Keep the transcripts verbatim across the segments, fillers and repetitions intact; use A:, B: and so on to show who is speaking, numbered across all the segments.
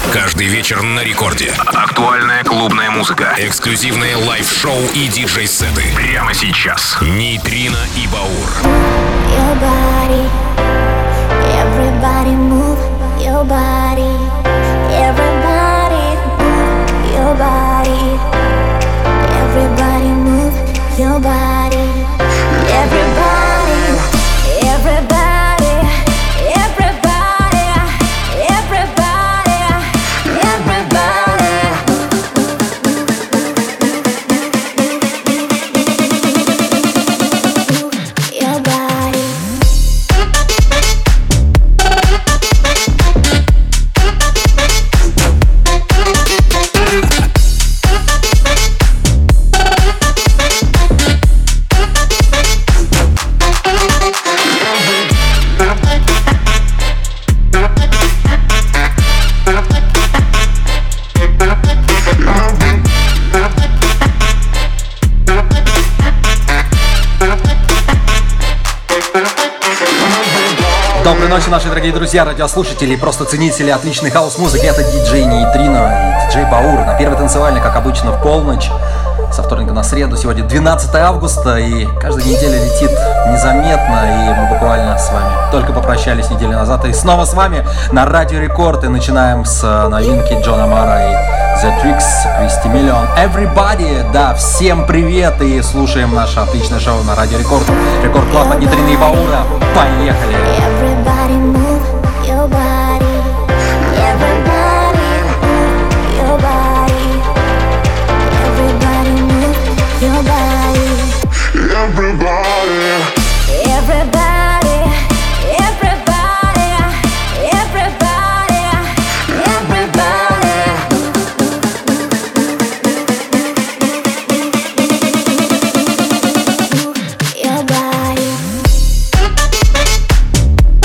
A: Каждый вечер на рекорде. Актуальная клубная музыка. Эксклюзивные лайв-шоу и диджей-сеты. Прямо сейчас. Нейтрино и Баур.
B: Your body, everybody move your body, everybody move your body, everybody move your body, everybody, everybody, everybody, everybody, everybody. Your body.
C: Доброй ночи, наши дорогие друзья, радиослушатели и просто ценители отличной хаус-музыки. Это диджей Нейтрино и диджей Баур на первой танцевальной, как обычно, в полночь. Со вторника на среду. Сегодня двенадцатое августа, и каждая неделя летит незаметно, и мы буквально с вами только попрощались неделю назад. И снова с вами на Радио Рекорд, и начинаем с новинки Джона Мара и The Tricks, Кристи Миллион. Everybody, да, всем привет, и слушаем наше отличное шоу на Радио Рекорд. Рекорд Клаб от Нейтрино и Баура. Поехали!
B: Everybody move your body. Everybody move your body. Everybody move your body.
D: Everybody.
B: Everybody. Everybody. Everybody. Everybody. Move your body.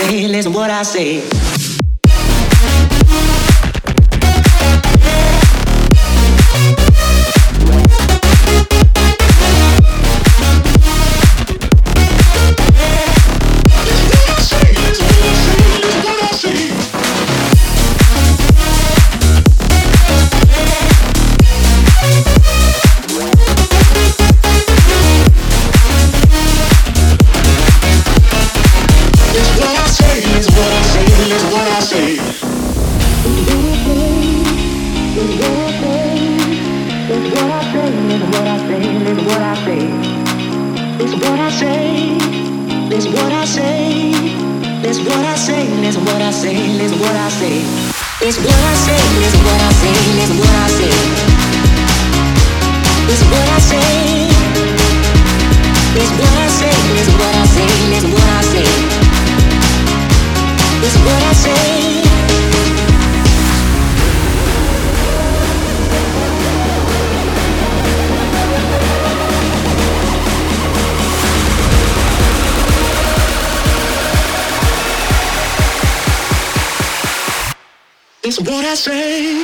D: say, listen what I say. It's what I say.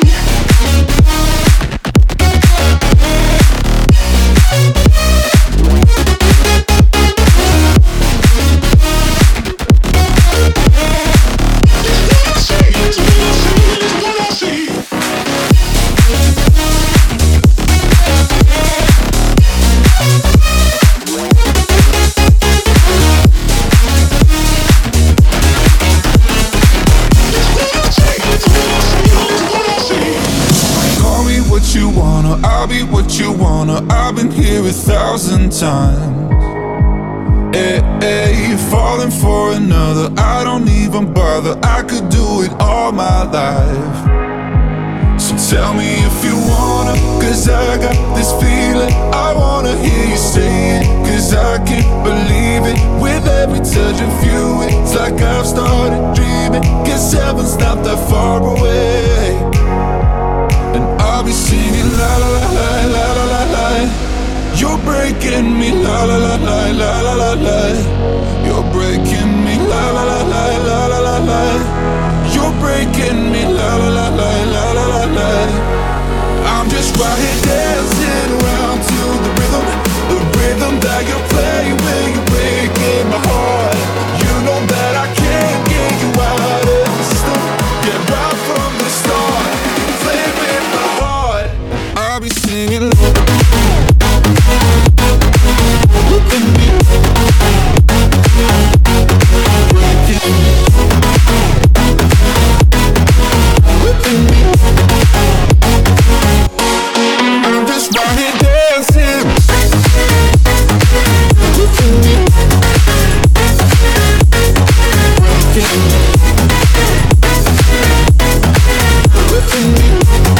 D: A thousand times, hey, hey, falling for another, I don't even bother. I could do it all my life. So tell me if you wanna, cause I got this feeling. I wanna hear you say it, cause I can't believe it. With every touch of you, it's like I've started dreaming. Guess heaven's not that far away. And I'll be singing la la la la la la la la. You're breaking me, la la la la la la la la. You're breaking me, la la la la la la la la. You're breaking me, la la la la la la la la. I'm just right here dancing around to the rhythm, the rhythm that you play when you're breaking my heart. You know that I can't get you out of the system. Yeah, right from the start, play with my heart. I'll be singing. Look at me. Look at me. I'm just right here dancing. Look at me. Look at me.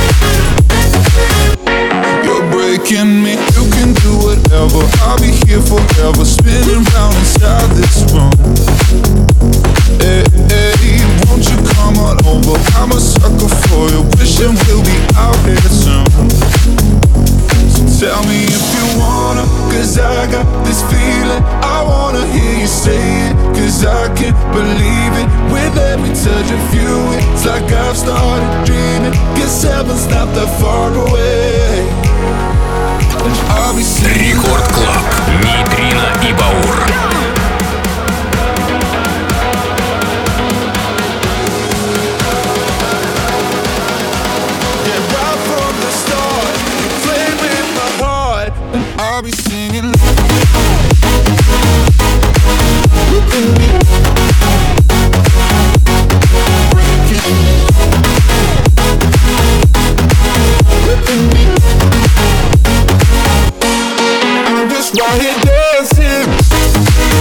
D: You're breaking me. You can do whatever. I'll be here forever, spinning round inside this room. Hey, hey, won't you come on over? I'm a sucker for you, wishing we'll be out here soon. So tell me if you wanna, cause I got this feeling. I wanna hear you say it, cause I can't believe it. With every touch of you, it's like I've started dreaming. Guess heaven's not that far away.
A: Рекорд Клаб, Нейтрино и Баур.
D: I'll be singing. Look at me. Look at me. I'm just right here dancing.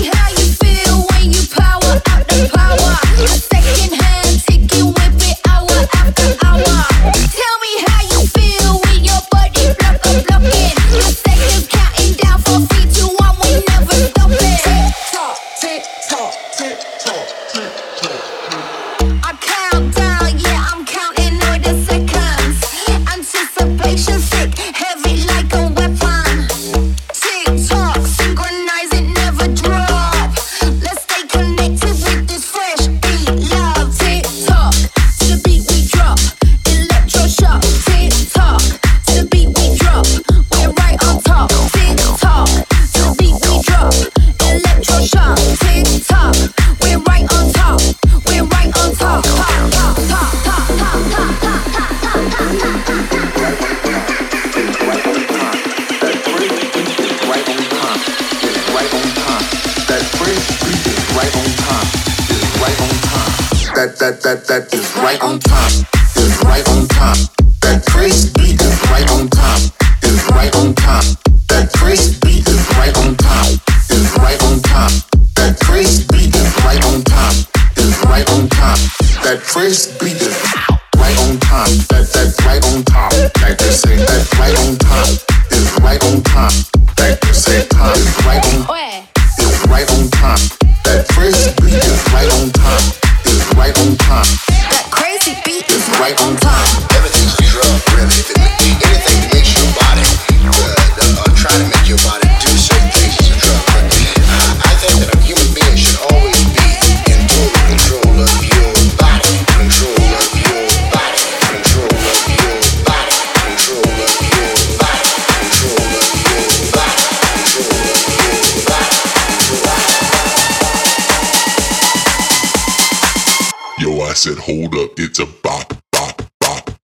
E: that that that that is right on time, is right on time. That crazy beat is right on time, is right on time. That crazy beat is right on time, is right on time. That crazy beat is right on time, is right on time. That crazy beat is right on time. That that's right on top. Like they say, that right on time is right on time. Like they say, time is right on, is right on time. That crazy beat is right on time, is right on time.
B: That crazy beat
E: is right on time.
F: Everything's a drug, really. If it, anything that makes your body, uh, or try to make your body do certain things is a drug. But uh, I think that a human being should always be in total control of your body, control of your body, control of your body, control of your body, control of your body, control of your body.
D: Yo, I said, hold up, it's a bop, bop, bop, bop,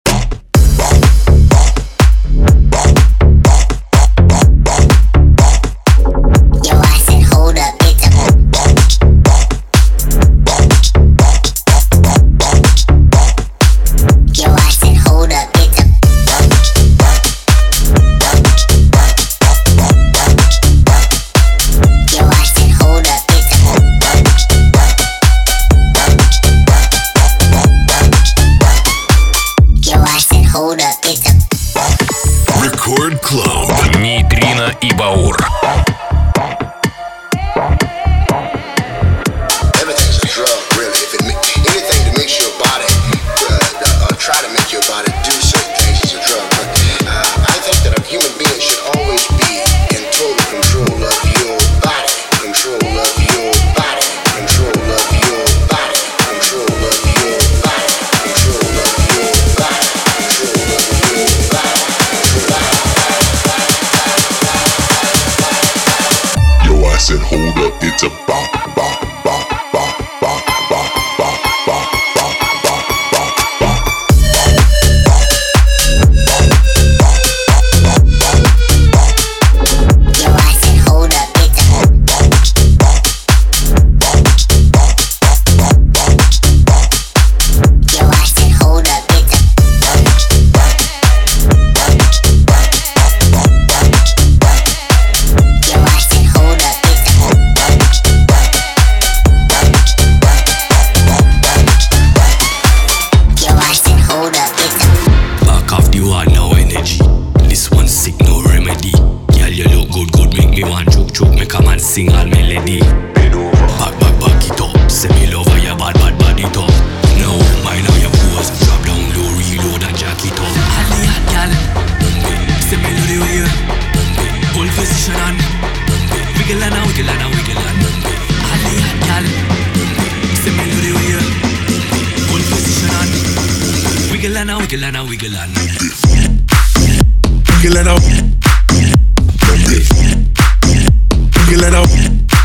B: Yo, I said, hold up, it's a Yo, I said, hold up, it's a Yo, I said, hold up, it's a Yo, I said, hold up, it's a
A: Record Club. Нейтрино и Баур.
F: Everything's a drug, really. If it ma- anything that makes your body, uh, or try to make your body do certain things is a drug. But uh, I think that a human being should always be in total control of your body, control of your body, control of your body, control of your body, control of your body, control of your body.
D: Yo, I said, hold up, it's a bop, bop, bop, bop, bop, bop, bop, bop, bop, bop, bop, bop.
B: Yo, I said, hold up, it's a Yo, I said, hold up, it's a Yo, I said, hold up, it's a Yo, I said, hold up, it's a
G: Back off the wall, no energy. This one sick, no remedy. Girl, you look good, good, make me want choke, choke. Make a man sing all melody. Back, back, back it up. Say me love how your bad, bad body talk. No, mind how your pose. Drop down low, reload and jack it up. Holly hot, girl. Bump it. Say me love the way you bump it. Hold position and bump it. Wiggle and a wiggle and a wiggle and bump it. Holly hot, girl. Bump it. Say me love the way you bump it. Hold position and wiggle and a wiggle and a wiggle and
D: Wiggle it out. Wiggle it out.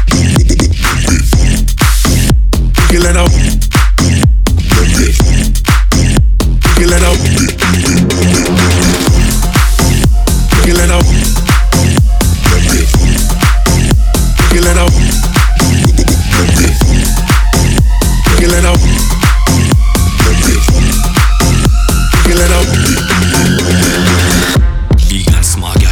D: Wiggle it out. Wiggle it out. Wiggle it out. Wiggle it out. Wiggle it out. Wiggle it out.
G: big and small, girl.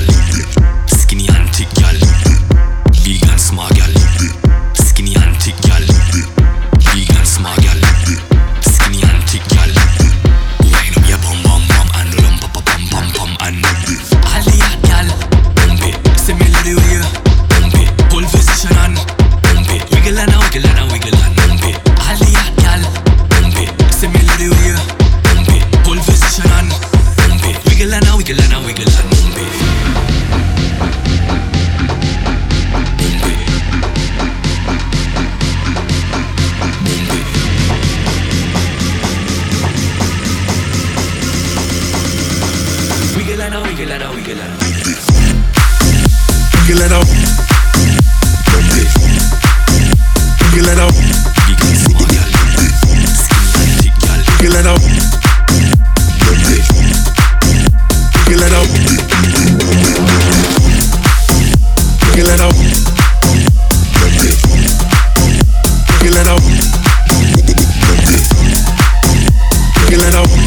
G: wiggle and a wiggle and pump it. All the hot gal, pump it. Say me love the way you pump it. Hold position and pump it. Wiggle and a wiggle and a wiggle and pump it. Pump it. Pump it. Wiggle and a wiggle and a wiggle and
E: Wiggle it out. Wiggle it out. Wiggle it out. Wiggle it out. Wiggle it out. Wiggle it out. Wiggle it out.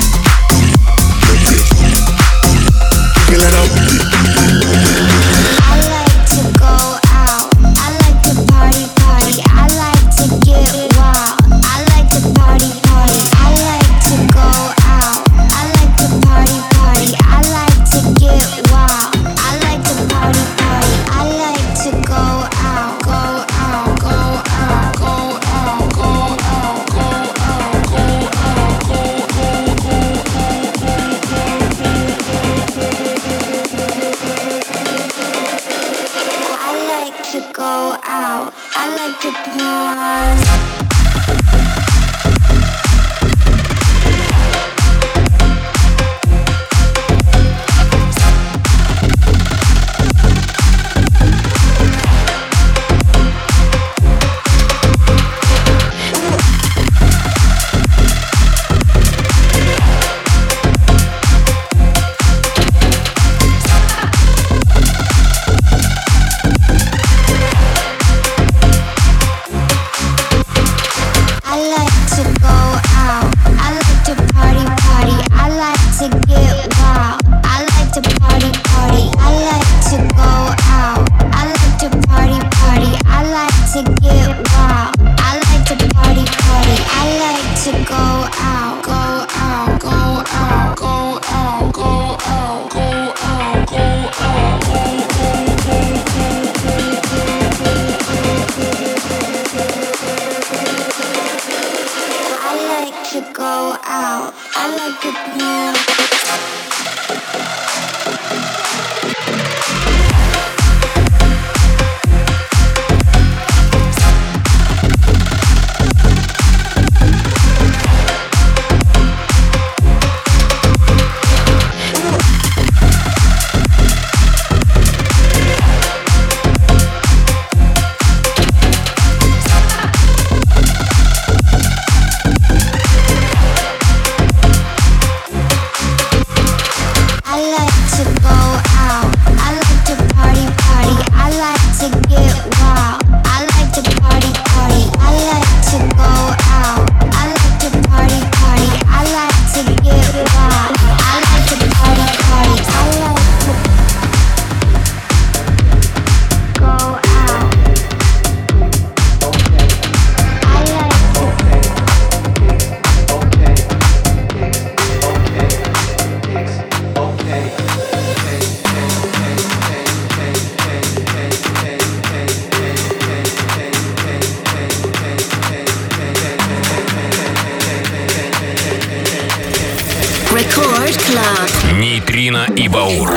E: Wiggle it out.
A: Нейтрино и Баур.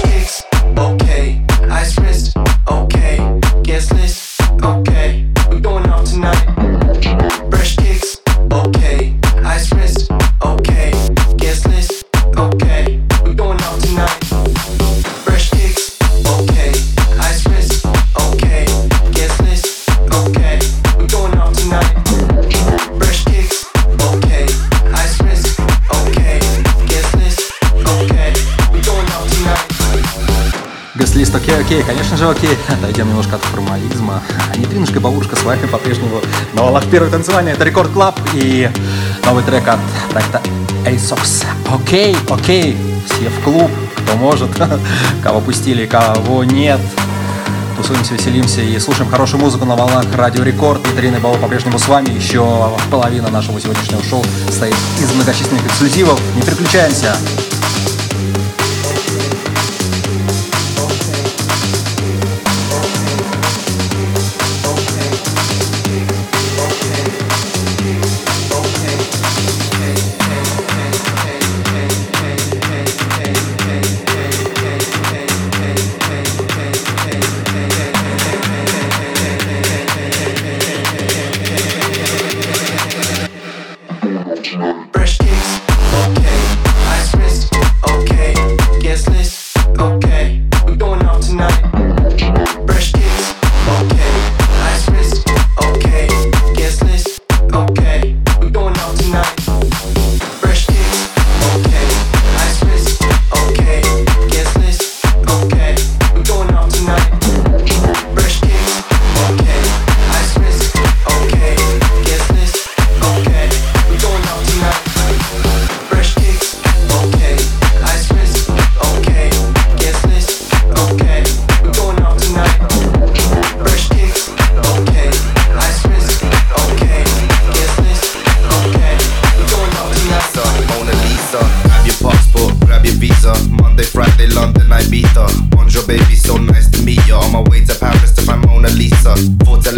C: Гест-лист окей, окей, конечно же окей. Дойдем немножко от формализма. Нейтринушка и Баурушка с вами по-прежнему на волнах первой танцевания. Это Рекорд Клаб и новый трек от проекта Asox. Окей, окей, все в клуб, кто может, кого пустили, кого нет. Тусуемся, веселимся и слушаем хорошую музыку на волнах Радио Рекорд. Нейтрина и Баур по-прежнему с вами. Еще половина нашего сегодняшнего шоу состоит из многочисленных эксклюзивов. Не переключаемся.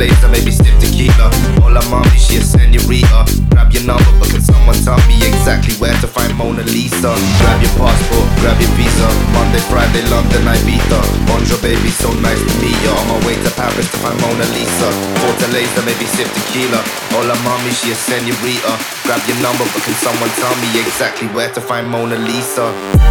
H: laser, maybe sip tequila. Hola mommy, she a senorita. Grab your number, but can someone tell me exactly where to find Mona Lisa? Grab your passport, grab your visa. Monday, Friday, London, Ibiza. Bonjour baby, so nice to meet you. On my way to Paris to find Mona Lisa. Water laser, maybe sip tequila. Hola mommy, she a senorita. Grab your number, but can someone tell me exactly where to find Mona Lisa?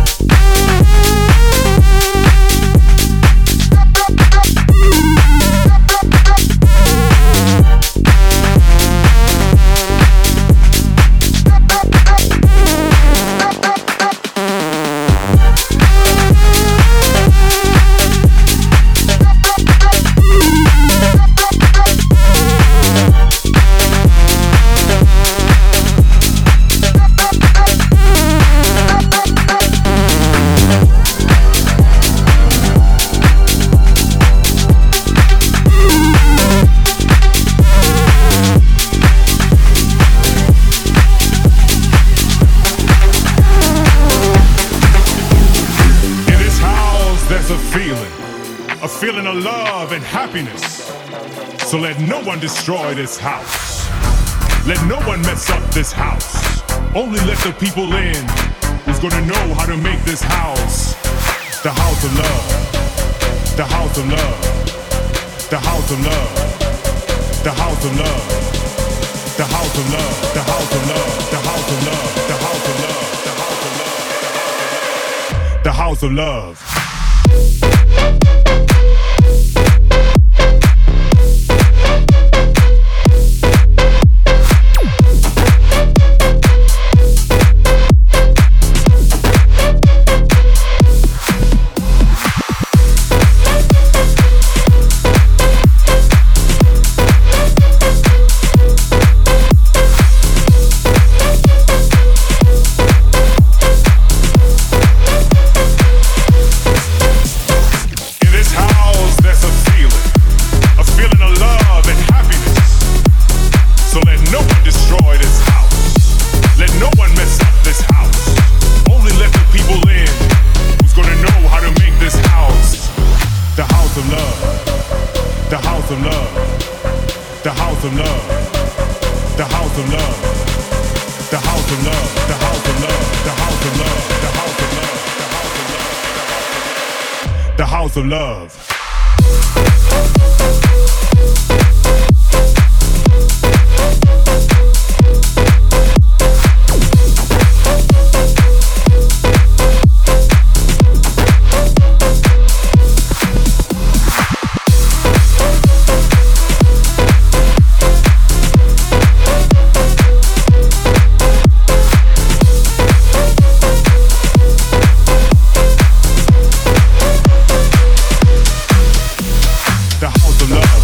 I: Feeling of love and happiness. So let no one destroy this house. Let no one mess up this house. Only let the people in who's gonna know how to make this house the house of love. The house of love. The house of love. The house of love. The house of love. The house of love. The house of love. The house of love. The house of love. The house of love. Of love. The house of love.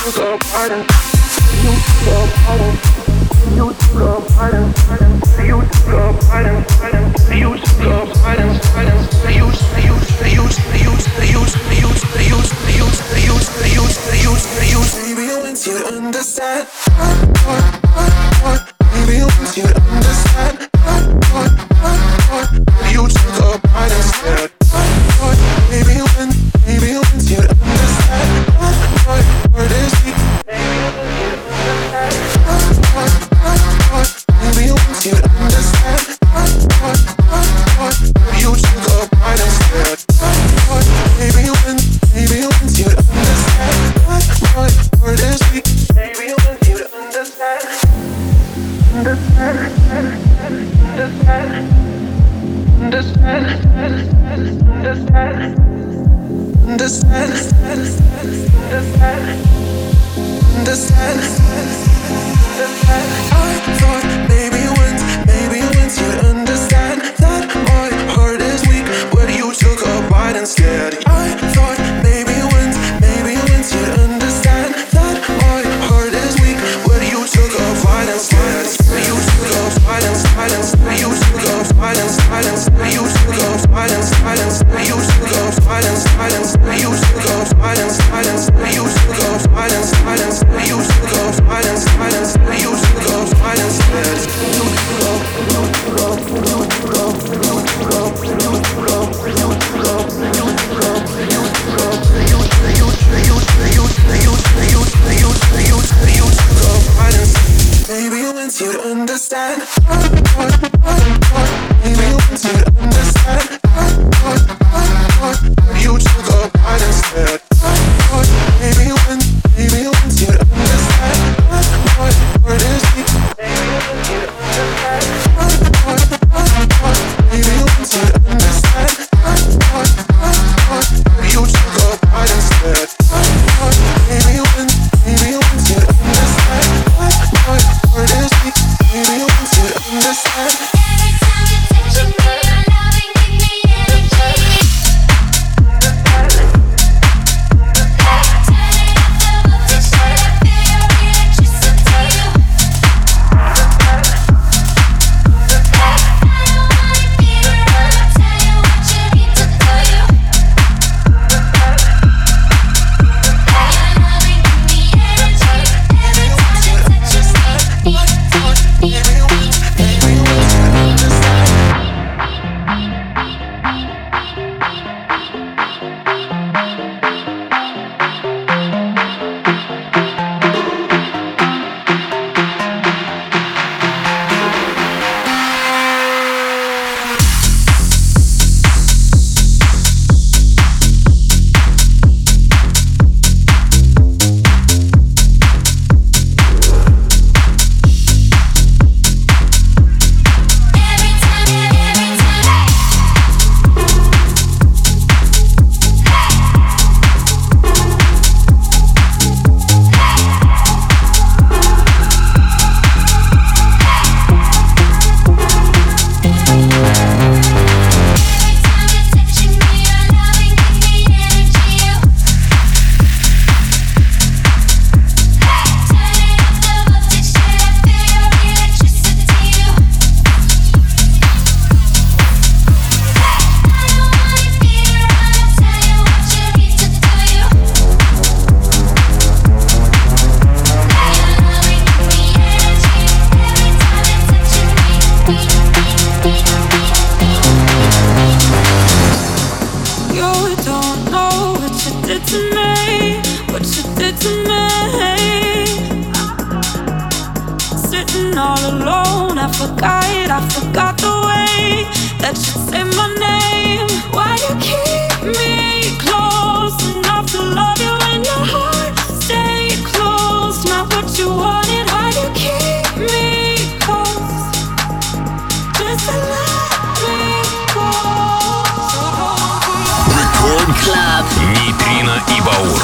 A: Нейтрино и Баур.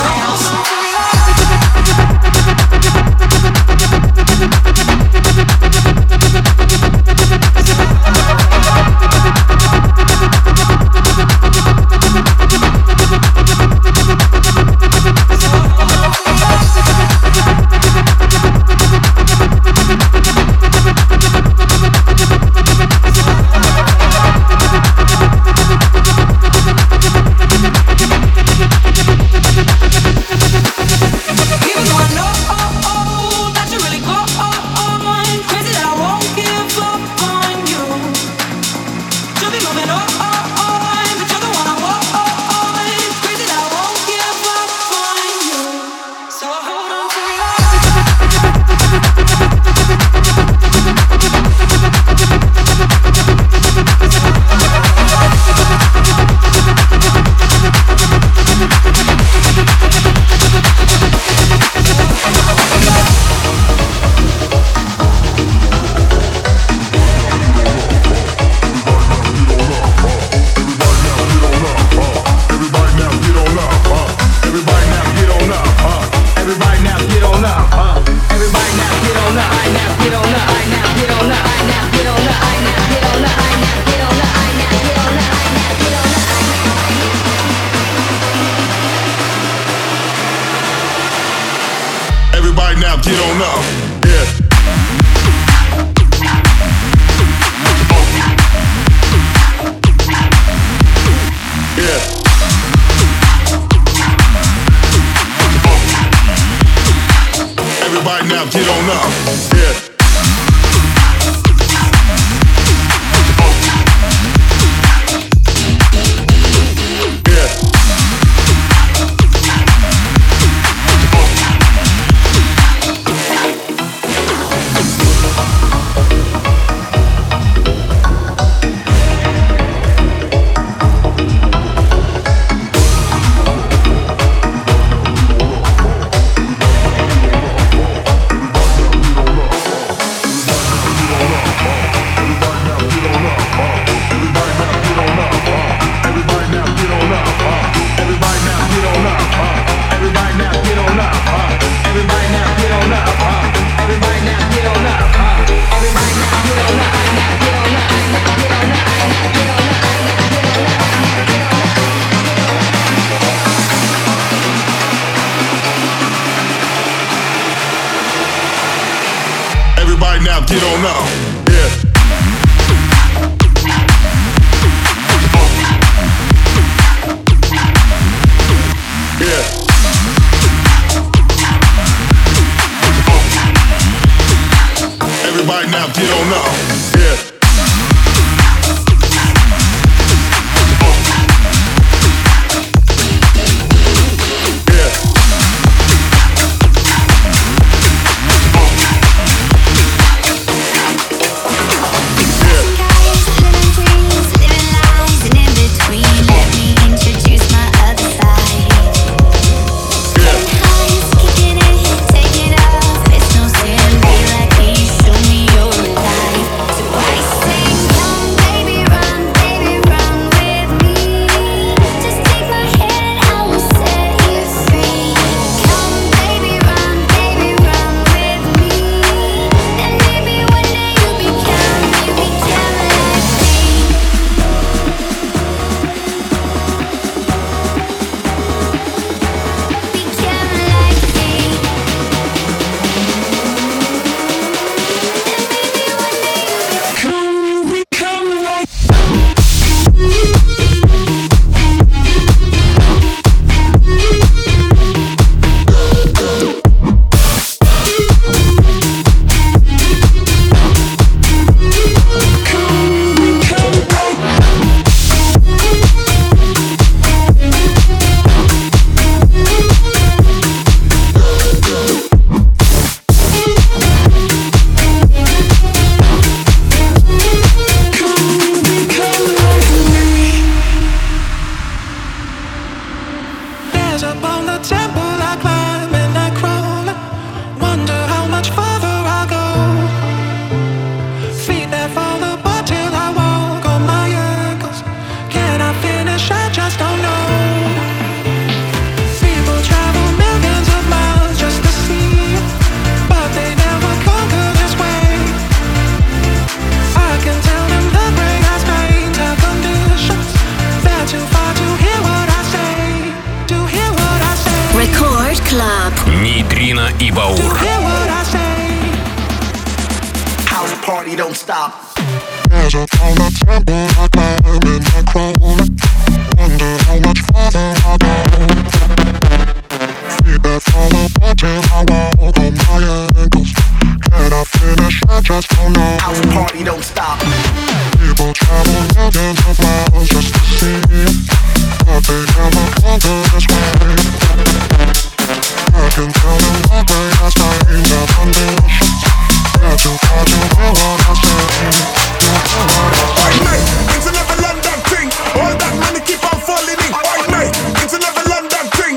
J: We'll be right back.
D: Everybody now get on up. Yeah. Yeah. Everybody now get on up. Yeah. Now get on up. Yeah. Yeah. Everybody now get on up. Yeah.
A: Нейтрино и Баур.
J: Party don't stop.
E: There's a kind of temple I climb in my crown. Wonder how much farther I go. Feedback from the bottom I walk on my ankles. Can I finish? I just don't know.
J: House party don't stop.
E: People travel millions of miles just to see me, but they never conquer this way. I can tell them the way has changed their conditions. They're too far to hear what I say.
D: Oi mate, it's a never London thing. All that money keep on falling in. Oi mate, it's a never London thing.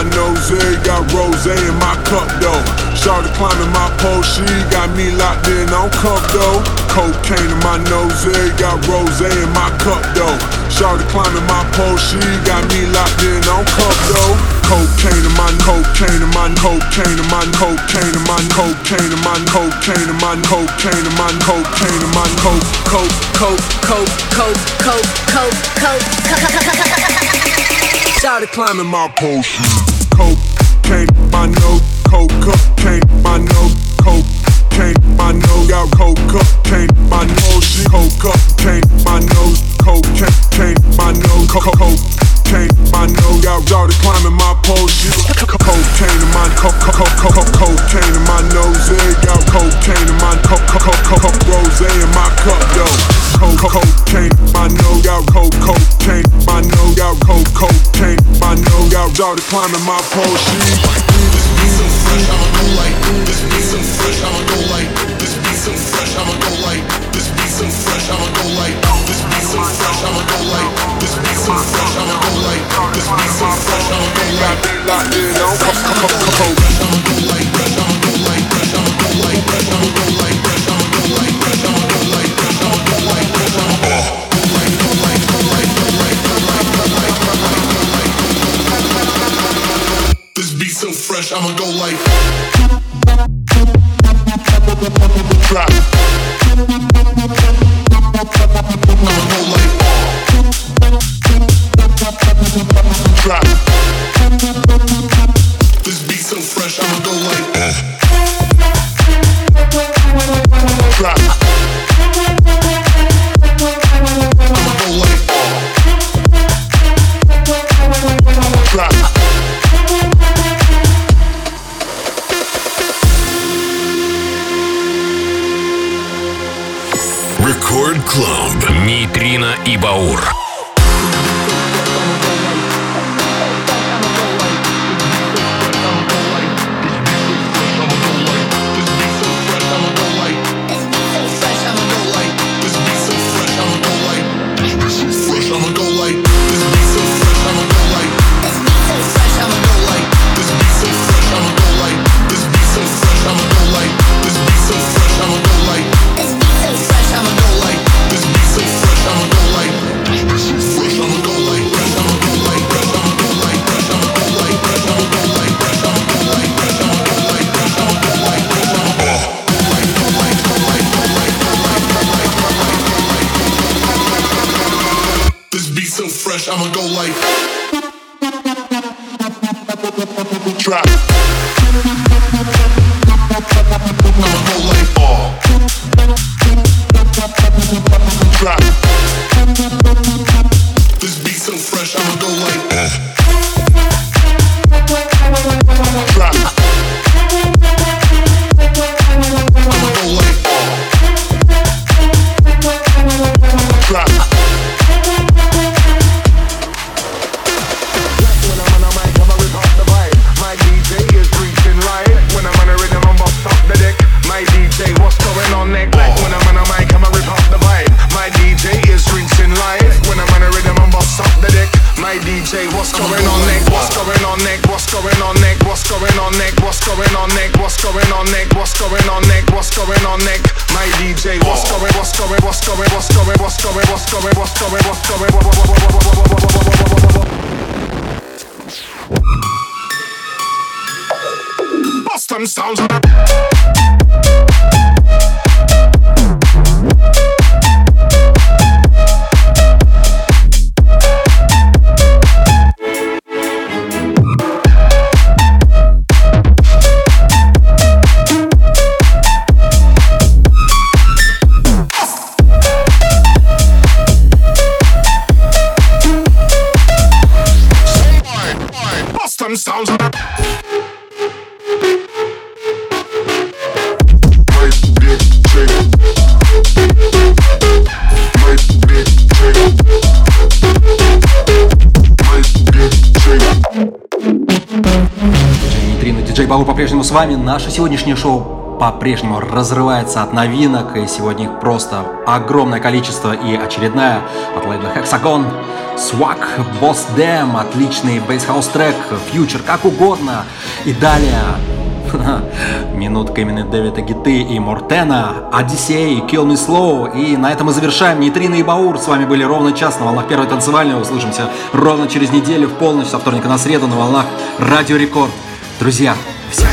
D: nose, got rose in my cup though. Started climbing my pole, she got me locked in on cup though. Cocaine in my nose, got rose in my cup though. Started climbing my pole, she got me locked in on cup though. Cocaine in my cocaine in my cocaine in my cocaine in my cocaine in my cocaine in my cocaine in my cocaine in my coke coke coke coke coke coke coke coke. Started climbing my pole, cocaine in my nose, coke cocaine in my nose, cocaine in my nose, got coke cocaine in my nose, she coke cocaine in my nose, cocaine in my nose, coke coke. Cocaine in my nose, got started climbing my pole. Cocaine in my co co co co cocaine in my nose, got cocaine in my co co co co rose in my cup though. Cocaine in my nose, got cocaine in my nose, got cocaine in my nose, got started climbing my pole. This beat so fresh, I'ma go like. This beat so fresh, I'ma go like. This beat so fresh, I'ma go like. This beat so fresh, I'ma go like. This beat so fresh, I'ma go like. This beat so fresh, I'ma go like. This beat so fresh, I'ma go like. Locked in on fresh, I'ma go like. Fresh, I'ma go like. Fresh, I'ma go like. Fresh, I'ma go like. Fresh, I'ma go like. Fresh, I'ma go like. Fresh, I'ma go like. Fresh, I'ma go like. Fresh, I'ma go like. Go like, go like, go like, go like, go like, go like, go like. This beat so fresh, I'ma go like. Drop. I'ma go like. Drop. This beat so fresh, I'ma go like. Drop. I'ma go like. Drop.
A: Record Club. Нейтрино и Баур.
D: I'ma go like. Drop. I'ma go like. Drop. This beat so fresh, I'ma go like. Drop. I'ma go like. Drop.
K: What's going on neck? What's going on neck? What's going on neck? What's going on neck? What's going on neck? What's going on neck? What's going on neck? What's going on neck? My D J, what's going? What's going? What's going? What's going? What's going? What's going? What's going? What's going? Bust them sounds. Sounds
C: Нейтрино, диджей Баур по-прежнему с вами. Наше сегодняшнее шоу по-прежнему разрывается от новинок, и сегодня их просто огромное количество. И очередная от лейбла Hexagon, Swag, Boss Damn, отличный бейс-хаус трек, Future, как угодно. И далее минутка именно Дэвида Гетты и Мортена, Одиссей, Kill Me Slow. И на этом мы завершаем. Нейтрино и Баур с вами были ровно час на волнах Первой танцевальной. Услышимся ровно через неделю в полночь, со вторника на среду на волнах Радио Рекорд. Друзья, всем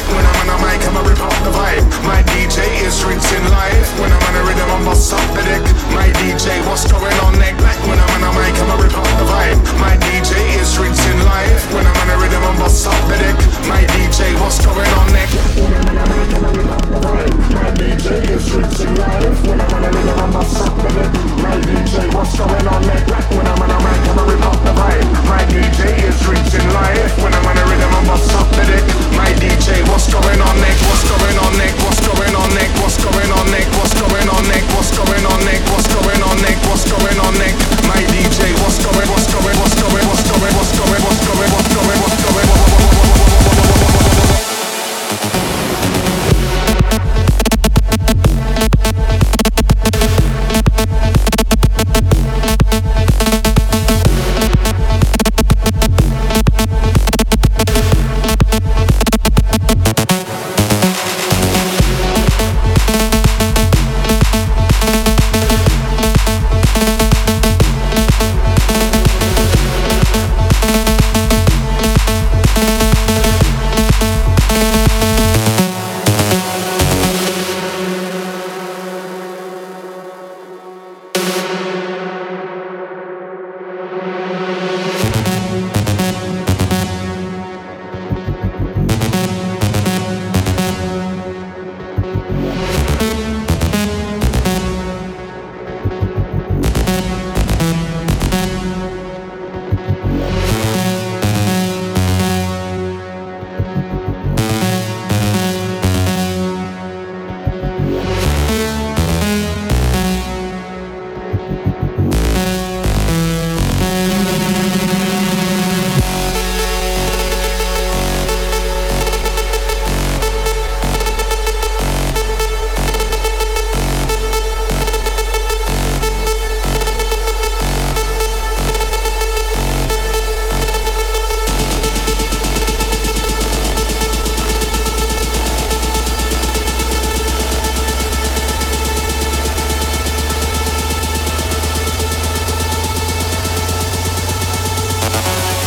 K: My D J is rinsing live. When I'm on a rhythm, I bust up the deck. My D J, what's going on neck? Black when I'm on a mic, I'ma rip up the vibe. My D J is rinsing live. When I'm on a rhythm, I bust up the deck. My D J, what's going on neck? When I'm on a mic, I'ma rip up the vibe. My D J is rinsing live. When I'm on a rhythm, I bust up the deck. My D J, what's going on neck? Black when I'm on a mic, I'ma rip up the vibe. My D J is rinsing live. When I'm on a rhythm, I bust up the deck. My D J, what's going on neck? What's going on neck? What's going on neck? What's going on neck? What's going on neck? What's going on neck? What's going on neck? What's going on neck? My D J, what's going? What's going? What's going? What's going? What's going? What's going? What's going? What's going?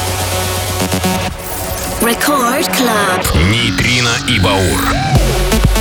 A: Рекорд Клаб. Нейтрино и Баур.